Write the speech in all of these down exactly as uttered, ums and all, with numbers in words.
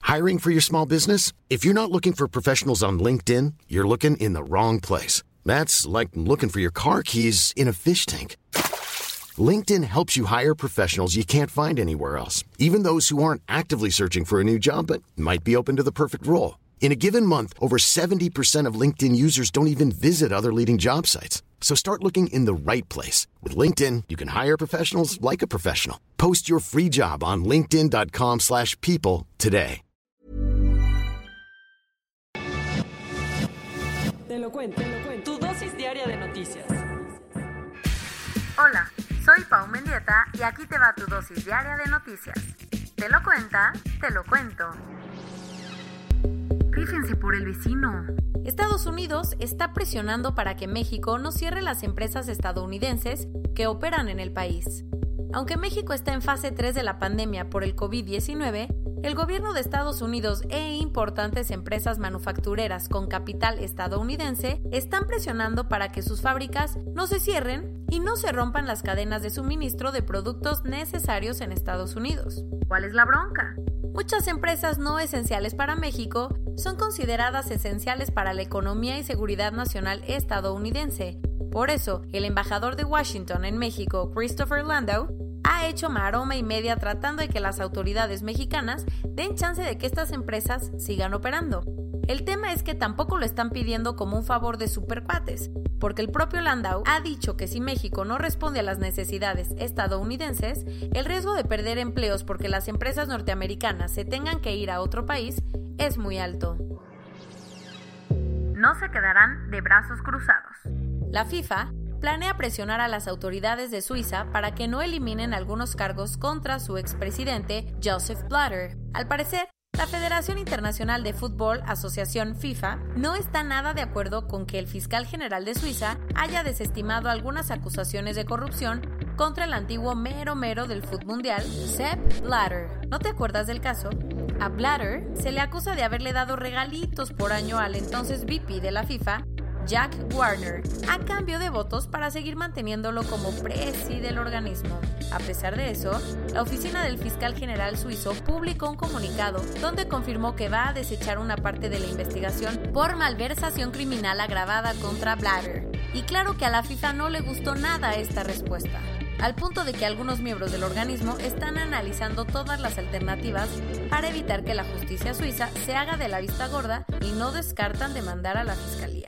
Hiring for your small business? If you're not looking for professionals on LinkedIn, you're looking in the wrong place. That's like looking for your car keys in a fish tank. LinkedIn helps you hire professionals you can't find anywhere else, even those who aren't actively searching for a new job but might be open to the perfect role. In a given month, over seventy percent of LinkedIn users don't even visit other leading job sites. So start looking in the right place. With LinkedIn, you can hire professionals like a professional. Post your free job on linkedin.com slash people today. Te lo cuento, te lo cuento. Tu dosis diaria de noticias. Hola, soy Pau Mendieta y aquí te va tu dosis diaria de noticias. Te lo cuenta, te lo cuento. Fíjense por el vecino. Estados Unidos está presionando para que México no cierre las empresas estadounidenses que operan en el país. Aunque México está en fase tres de la pandemia por el covid diecinueve, el gobierno de Estados Unidos e importantes empresas manufactureras con capital estadounidense están presionando para que sus fábricas no se cierren y no se rompan las cadenas de suministro de productos necesarios en Estados Unidos. ¿Cuál es la bronca? Muchas empresas no esenciales para México son consideradas esenciales para la economía y seguridad nacional estadounidense. Por eso, el embajador de Washington en México, Christopher Landau, ha hecho maroma y media tratando de que las autoridades mexicanas den chance de que estas empresas sigan operando. El tema es que tampoco lo están pidiendo como un favor de supercuates, porque el propio Landau ha dicho que si México no responde a las necesidades estadounidenses, el riesgo de perder empleos porque las empresas norteamericanas se tengan que ir a otro país es muy alto. No se quedarán de brazos cruzados. La FIFA planea presionar a las autoridades de Suiza para que no eliminen algunos cargos contra su expresidente Joseph Blatter. Al parecer, la Federación Internacional de Fútbol, Asociación FIFA, no está nada de acuerdo con que el fiscal general de Suiza haya desestimado algunas acusaciones de corrupción contra el antiguo mero mero del fútbol mundial, Sepp Blatter. ¿No te acuerdas del caso? A Blatter se le acusa de haberle dado regalitos por año al entonces V P de la FIFA, Jack Warner, a cambio de votos para seguir manteniéndolo como presi del organismo. A pesar de eso, la oficina del fiscal general suizo publicó un comunicado donde confirmó que va a desechar una parte de la investigación por malversación criminal agravada contra Blatter. Y claro que a la FIFA no le gustó nada esta respuesta, al punto de que algunos miembros del organismo están analizando todas las alternativas para evitar que la justicia suiza se haga de la vista gorda y no descartan demandar a la fiscalía.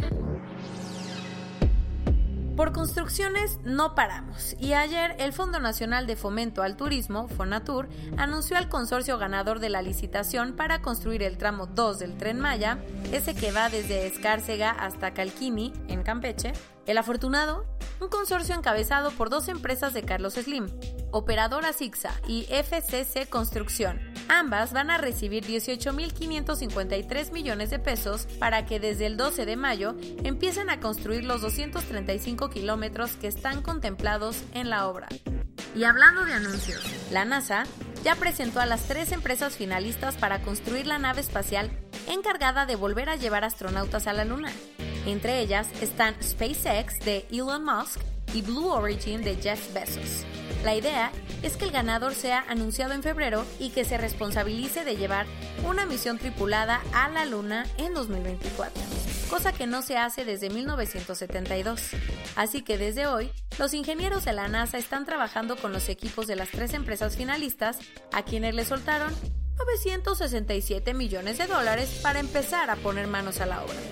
Por construcciones no paramos, y ayer el Fondo Nacional de Fomento al Turismo, Fonatur, anunció al consorcio ganador de la licitación para construir el tramo dos del Tren Maya, ese que va desde Escárcega hasta Calquini, en Campeche. El afortunado, un consorcio encabezado por dos empresas de Carlos Slim, Operadora Sixa y F C C Construcción. Ambas van a recibir dieciocho mil quinientos cincuenta y tres millones de pesos para que desde el doce de mayo empiecen a construir los doscientos treinta y cinco kilómetros que están contemplados en la obra. Y hablando de anuncios, la NASA ya presentó a las tres empresas finalistas para construir la nave espacial encargada de volver a llevar astronautas a la Luna. Entre ellas están SpaceX de Elon Musk y Blue Origin de Jeff Bezos. La idea es que el ganador sea anunciado en febrero y que se responsabilice de llevar una misión tripulada a la Luna en dos mil veinticuatro, cosa que no se hace desde mil novecientos setenta y dos. Así que desde hoy, los ingenieros de la NASA están trabajando con los equipos de las tres empresas finalistas, a quienes le soltaron novecientos sesenta y siete millones de dólares para empezar a poner manos a la obra.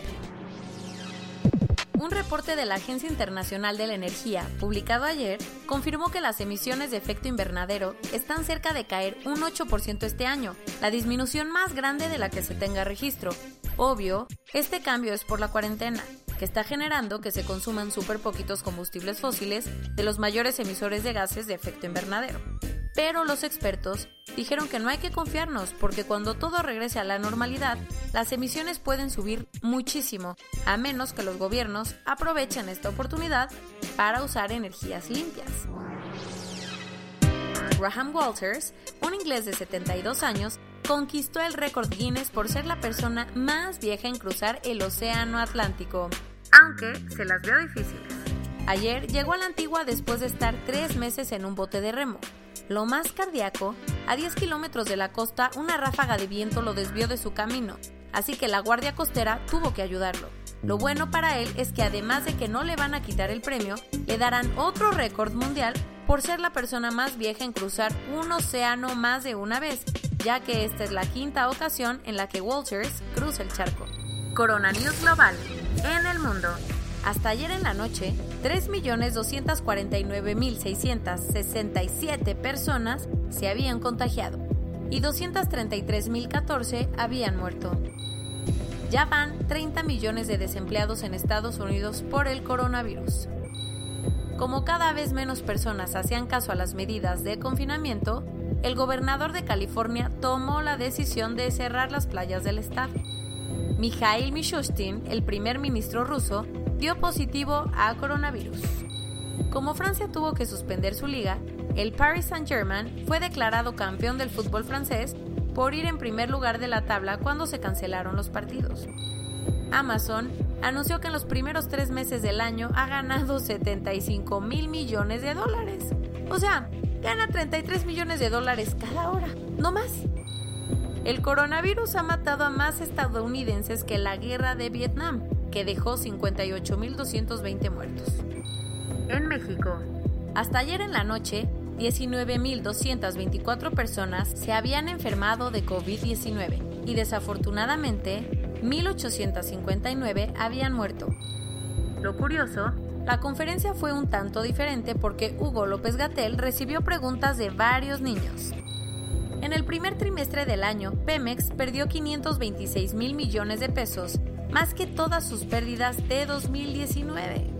Un reporte de la Agencia Internacional de la Energía, publicado ayer, confirmó que las emisiones de efecto invernadero están cerca de caer un ocho por ciento este año, la disminución más grande de la que se tenga registro. Obvio, este cambio es por la cuarentena, que está generando que se consuman súper poquitos combustibles fósiles de los mayores emisores de gases de efecto invernadero. Pero los expertos dijeron que no hay que confiarnos porque cuando todo regrese a la normalidad, las emisiones pueden subir muchísimo, a menos que los gobiernos aprovechen esta oportunidad para usar energías limpias. Graham Walters, un inglés de setenta y dos años, conquistó el récord Guinness por ser la persona más vieja en cruzar el océano Atlántico, aunque se las vio difíciles. Ayer llegó a la Antigua después de estar tres meses en un bote de remo. Lo más cardíaco A diez kilómetros de la costa, una ráfaga de viento lo desvió de su camino, así que la Guardia Costera tuvo que ayudarlo. Lo bueno para él es que además de que no le van a quitar el premio, le darán otro récord mundial por ser la persona más vieja en cruzar un océano más de una vez, ya que esta es la quinta ocasión en la que Walters cruza el charco. Corona News Global, en el mundo. Hasta ayer en la noche, tres millones doscientos cuarenta y nueve mil seiscientos sesenta y siete personas se habían contagiado y doscientos treinta y tres mil catorce habían muerto. Ya van treinta millones de desempleados en Estados Unidos por el coronavirus. Como cada vez menos personas hacían caso a las medidas de confinamiento, el gobernador de California tomó la decisión de cerrar las playas del estado. Mikhail Mishustin, el primer ministro ruso, dio positivo a coronavirus. Como Francia tuvo que suspender su liga, el Paris Saint-Germain fue declarado campeón del fútbol francés por ir en primer lugar de la tabla cuando se cancelaron los partidos. Amazon anunció que en los primeros tres meses del año ha ganado setenta y cinco mil millones de dólares. O sea, gana treinta y tres millones de dólares cada hora, no más. El coronavirus ha matado a más estadounidenses que la guerra de Vietnam, que dejó cincuenta y ocho mil doscientos veinte muertos. En México, hasta ayer en la noche, diecinueve mil doscientas veinticuatro personas se habían enfermado de COVID diecinueve y desafortunadamente mil ochocientos cincuenta y nueve habían muerto. Lo curioso, la conferencia fue un tanto diferente porque Hugo López-Gatell recibió preguntas de varios niños. En el primer trimestre del año, Pemex perdió quinientos veintiséis mil millones de pesos, más que todas sus pérdidas de dos mil diecinueve.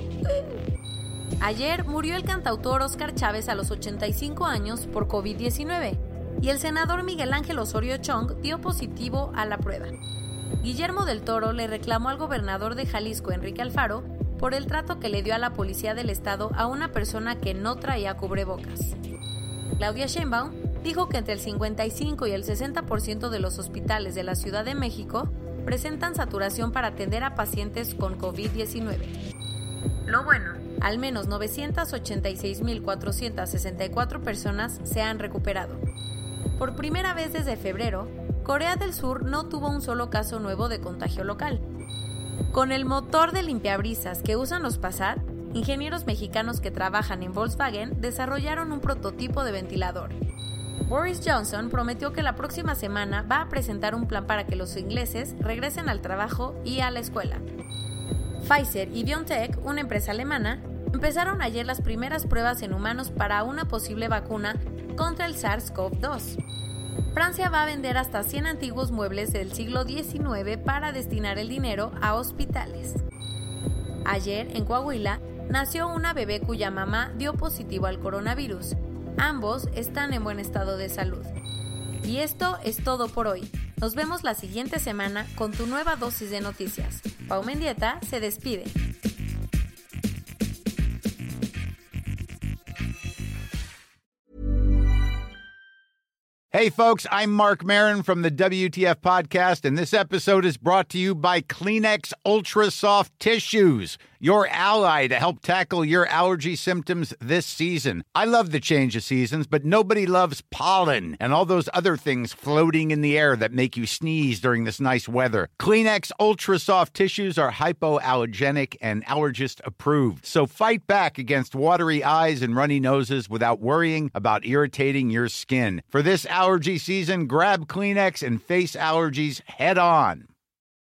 Ayer murió el cantautor Óscar Chávez a los ochenta y cinco años por COVID diecinueve y el senador Miguel Ángel Osorio Chong dio positivo a la prueba. Guillermo del Toro le reclamó al gobernador de Jalisco, Enrique Alfaro, por el trato que le dio a la policía del estado a una persona que no traía cubrebocas. Claudia Sheinbaum dijo que entre el cincuenta y cinco y el sesenta por ciento de los hospitales de la Ciudad de México presentan saturación para atender a pacientes con COVID diecinueve. Lo bueno, al menos novecientos ochenta y seis mil cuatrocientos sesenta y cuatro personas se han recuperado. Por primera vez desde febrero, Corea del Sur no tuvo un solo caso nuevo de contagio local. Con el motor de limpiabrisas que usan los Passat, ingenieros mexicanos que trabajan en Volkswagen desarrollaron un prototipo de ventilador. Boris Johnson prometió que la próxima semana va a presentar un plan para que los ingleses regresen al trabajo y a la escuela. Pfizer y BioNTech, una empresa alemana, empezaron ayer las primeras pruebas en humanos para una posible vacuna contra el SARS-CoV dos. Francia va a vender hasta cien antiguos muebles del siglo diecinueve para destinar el dinero a hospitales. Ayer, en Coahuila, nació una bebé cuya mamá dio positivo al coronavirus. Ambos están en buen estado de salud. Y esto es todo por hoy. Nos vemos la siguiente semana con tu nueva dosis de noticias. Pau Mendieta se despide. Hey folks, I'm Mark Maron from the W T F podcast, and this episode is brought to you by Kleenex Ultra Soft Tissues, your ally to help tackle your allergy symptoms this season. I love the change of seasons, but nobody loves pollen and all those other things floating in the air that make you sneeze during this nice weather. Kleenex Ultra Soft Tissues are hypoallergenic and allergist approved, so fight back against watery eyes and runny noses without worrying about irritating your skin. For this allergy season, grab Kleenex and face allergies head on.